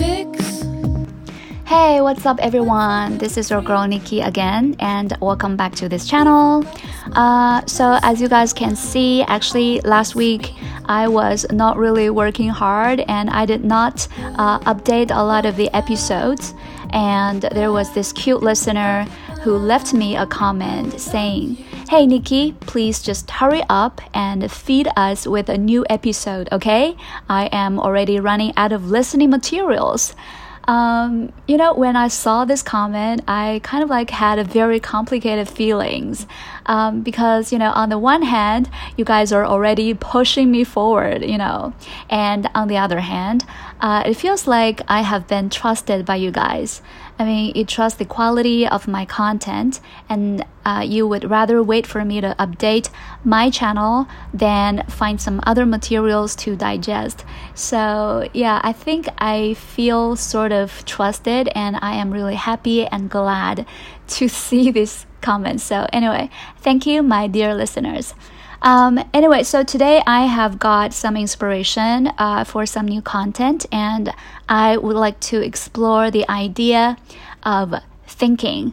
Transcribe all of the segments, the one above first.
fix. Hey, what's up everyone? This is your girl Nikki again, and welcome back to this channel. So as you guys can see, actually last week I was not really working hard and I did not update a lot of the episodes, and there was this cute listener who left me a comment saying, "Hey Nikki, please just hurry up and feed us with a new episode, okay? I am already running out of listening materials." When I saw this comment, I kind of had a very complicated feelings because, on the one hand, you guys are already pushing me forward, and on the other hand, it feels like I have been trusted by you guys. I mean, you trust the quality of my content, and you would rather wait for me to update my channel than find some other materials to digest. So yeah, I think I feel sort of trusted, and I am really happy and glad to see these comments. So anyway, thank you, my dear listeners. So today I have got some inspiration for some new content, and I would like to explore the idea of thinking.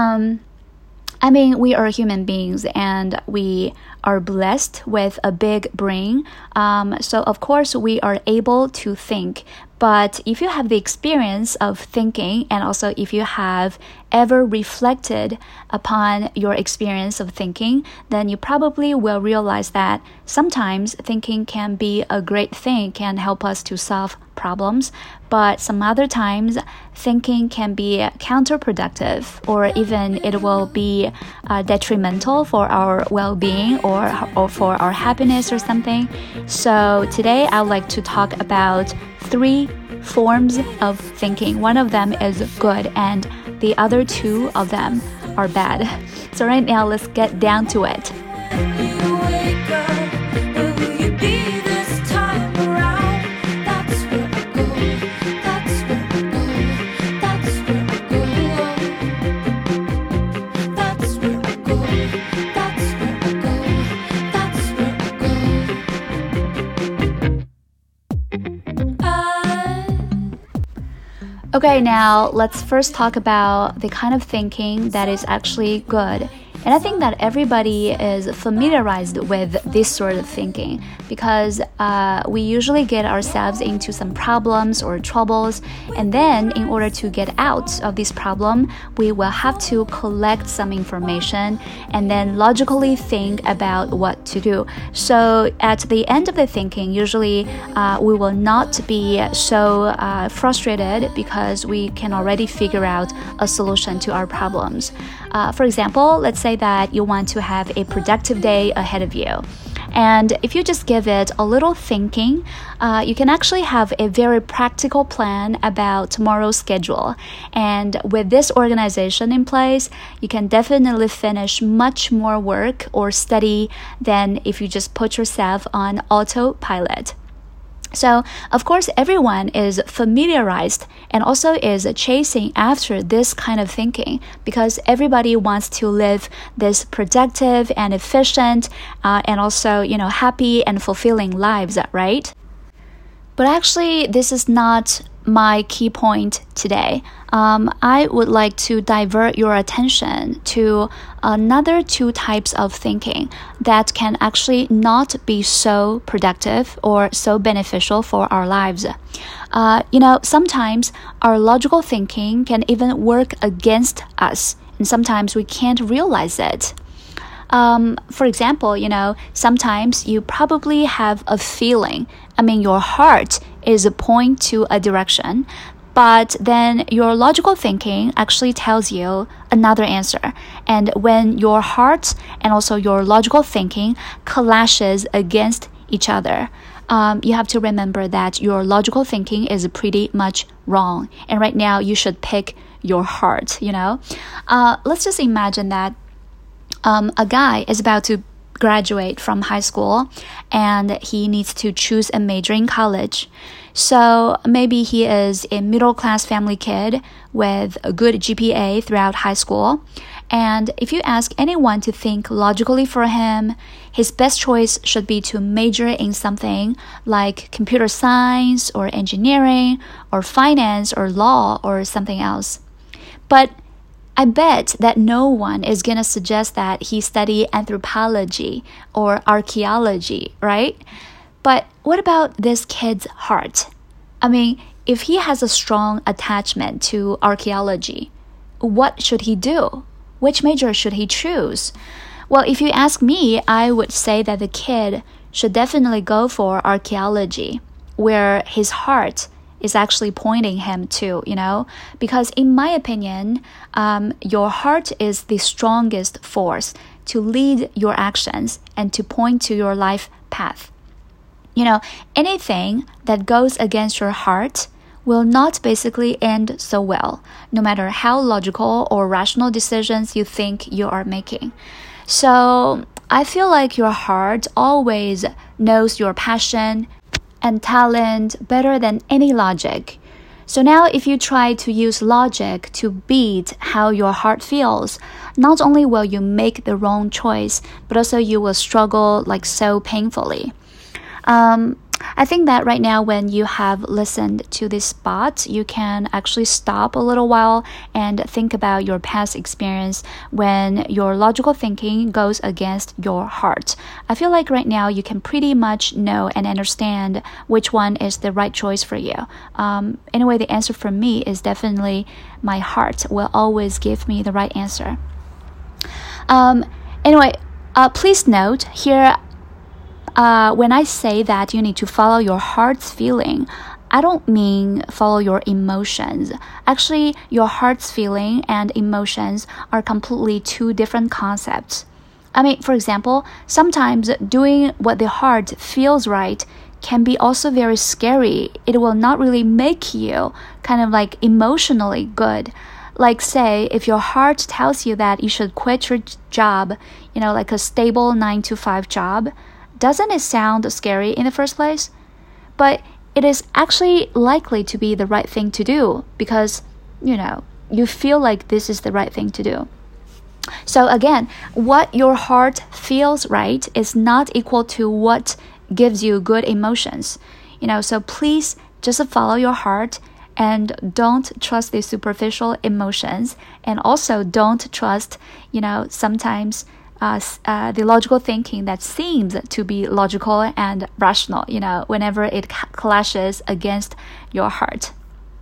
We are human beings and we are blessed with a big brain. So of course we are able to think. But if you have the experience of thinking, and also if you have ever reflected upon your experience of thinking, then you probably will realize that sometimes thinking can be a great thing, can help us to solve problems, but some other times thinking can be counterproductive, or even it will be detrimental for our well-being or for our happiness or something. So today I would like to talk about 3 forms of thinking. One of them is good and the other 2 of them are bad. So right now let's get down to it. Okay, now let's first talk about the kind of thinking that is actually good. And I think that everybody is familiarized with this sort of thinking because we usually get ourselves into some problems or troubles, and then in order to get out of this problem, we will have to collect some information and then logically think about what to do. So at the end of the thinking, usually we will not be so frustrated because we can already figure out a solution to our problems. For example, let's say that you want to have a productive day ahead of you. And if you just give it a little thinking, you can actually have a very practical plan about tomorrow's schedule. And with this organization in place, you can definitely finish much more work or study than if you just put yourself on autopilot. So, of course, everyone is familiarized and also is chasing after this kind of thinking because everybody wants to live this productive and efficient and also, happy and fulfilling lives, right? But actually, this is not my key point today. I would like to divert your attention to another 2 types of thinking that can actually not be so productive or so beneficial for our lives. Sometimes our logical thinking can even work against us, and sometimes we can't realize it. For example, sometimes you probably have a feeling. Your heart is pointing to a direction, but then your logical thinking actually tells you another answer. And when your heart and also your logical thinking clashes against each other, you have to remember that your logical thinking is pretty much wrong. And right now you should pick your heart, Let's just imagine that a guy is about to graduate from high school and he needs to choose a major in college. So maybe he is a middle-class family kid with a good GPA throughout high school, And if you ask anyone to think logically for him, his best choice should be to major in something like computer science or engineering or finance or law or something else. But I bet that no one is going to suggest that he study anthropology or archaeology, right? But what about this kid's heart? I mean, if he has a strong attachment to archaeology, what should he do? Which major should he choose? Well, if you ask me, I would say that the kid should definitely go for archaeology, where his heart is actually pointing him to, because in my opinion, your heart is the strongest force to lead your actions and to point to your life path. Anything that goes against your heart will not basically end so well, no matter how logical or rational decisions you think you are making. So I feel like your heart always knows your passion and talent better than any logic. So now if you try to use logic to beat how your heart feels, not only will you make the wrong choice, but also you will struggle like so painfully. I think that right now when you have listened to this spot, you can actually stop a little while and think about your past experience when your logical thinking goes against your heart. I feel like right now you can pretty much know and understand which one is the right choice for you. Anyway, the answer for me is definitely my heart will always give me the right answer. Please note here, when I say that you need to follow your heart's feeling, I don't mean follow your emotions. Actually, your heart's feeling and emotions are completely two different concepts. I mean, for example, sometimes doing what the heart feels right can be also very scary. It will not really make you kind of like emotionally good. Like say, if your heart tells you that you should quit your job, like a stable 9-to-5 job, doesn't it sound scary in the first place? But it is actually likely to be the right thing to do because, you feel like this is the right thing to do. So again, what your heart feels right is not equal to what gives you good emotions. So please just follow your heart and don't trust the superficial emotions, and also don't trust, sometimes the logical thinking that seems to be logical and rational, whenever it clashes against your heart.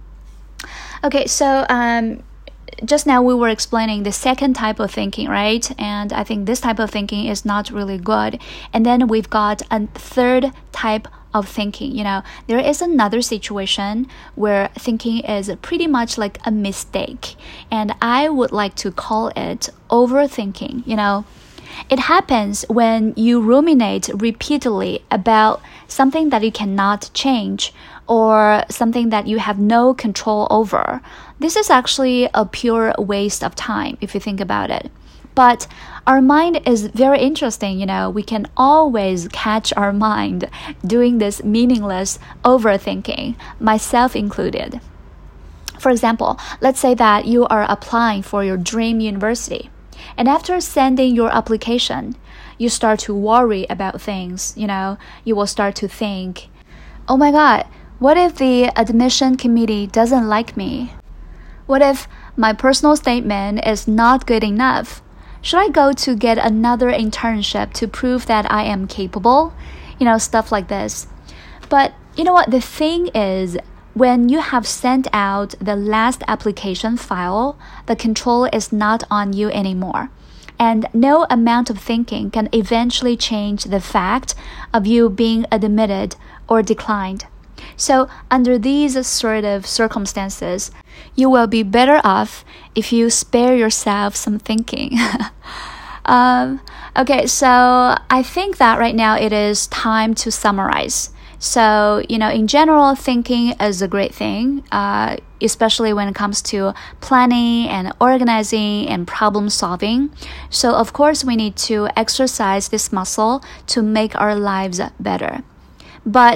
Okay, so just now we were explaining the second type of thinking, right? And I think this type of thinking is not really good. And then we've got a third type of thinking. There is another situation where thinking is pretty much like a mistake. And I would like to call it overthinking, It happens when you ruminate repeatedly about something that you cannot change or something that you have no control over. This is actually a pure waste of time if you think about it. But our mind is very interesting, We can always catch our mind doing this meaningless overthinking, myself included. For example, let's say that you are applying for your dream university. And after sending your application, you start to worry about things, You will start to think, oh my God, what if the admission committee doesn't like me? What if my personal statement is not good enough? Should I go to get another internship to prove that I am capable? Stuff like this. But you know what? The thing is, when you have sent out the last application file, the control is not on you anymore. And no amount of thinking can eventually change the fact of you being admitted or declined. So under these sort of circumstances, you will be better off if you spare yourself some thinking. Okay, so I think that right now it is time to summarize. So, in general, thinking is a great thing, especially when it comes to planning and organizing and problem solving. So, of course, we need to exercise this muscle to make our lives better. But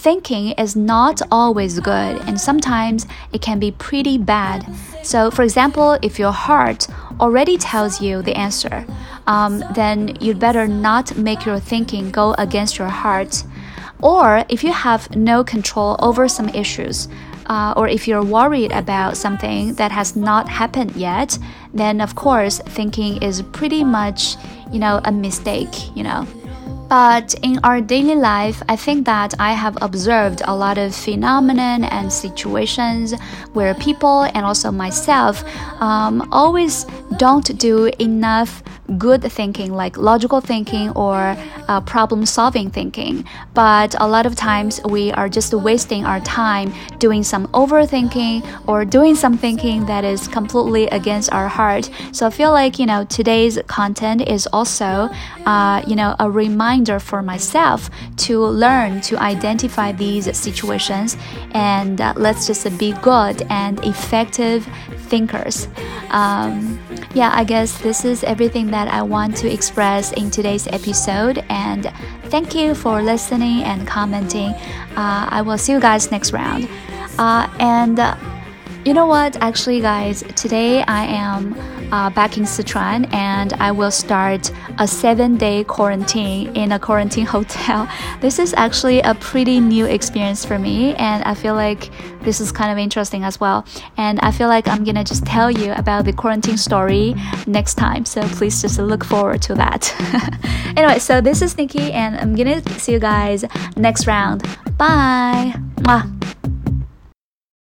thinking is not always good, and sometimes it can be pretty bad. So, for example, if your heart already tells you the answer, then you'd better not make your thinking go against your heart. Or if you have no control over some issues, or if you're worried about something that has not happened yet, then of course thinking is pretty much, a mistake. But in our daily life, I think that I have observed a lot of phenomenon and situations where people and also myself always don't do enough good thinking, like logical thinking or problem-solving thinking. But a lot of times we are just wasting our time doing some overthinking or doing some thinking that is completely against our heart. So I feel like, today's content is also, a reminder for myself to learn to identify these situations, and let's just be good and effective thinkers. I guess this is everything that I want to express in today's episode, and thank you for listening and commenting. I will see you guys next round. And you know what? Actually, guys, today I am back in Sichuan, and I will start a 7-day quarantine in a quarantine hotel. This is actually a pretty new experience for me, and I feel like this is kind of interesting as well. And I feel like I'm gonna just tell you about the quarantine story next time, so please just look forward to that. Anyway, so this is Nikki, and I'm gonna see you guys next round. Bye! Mwah.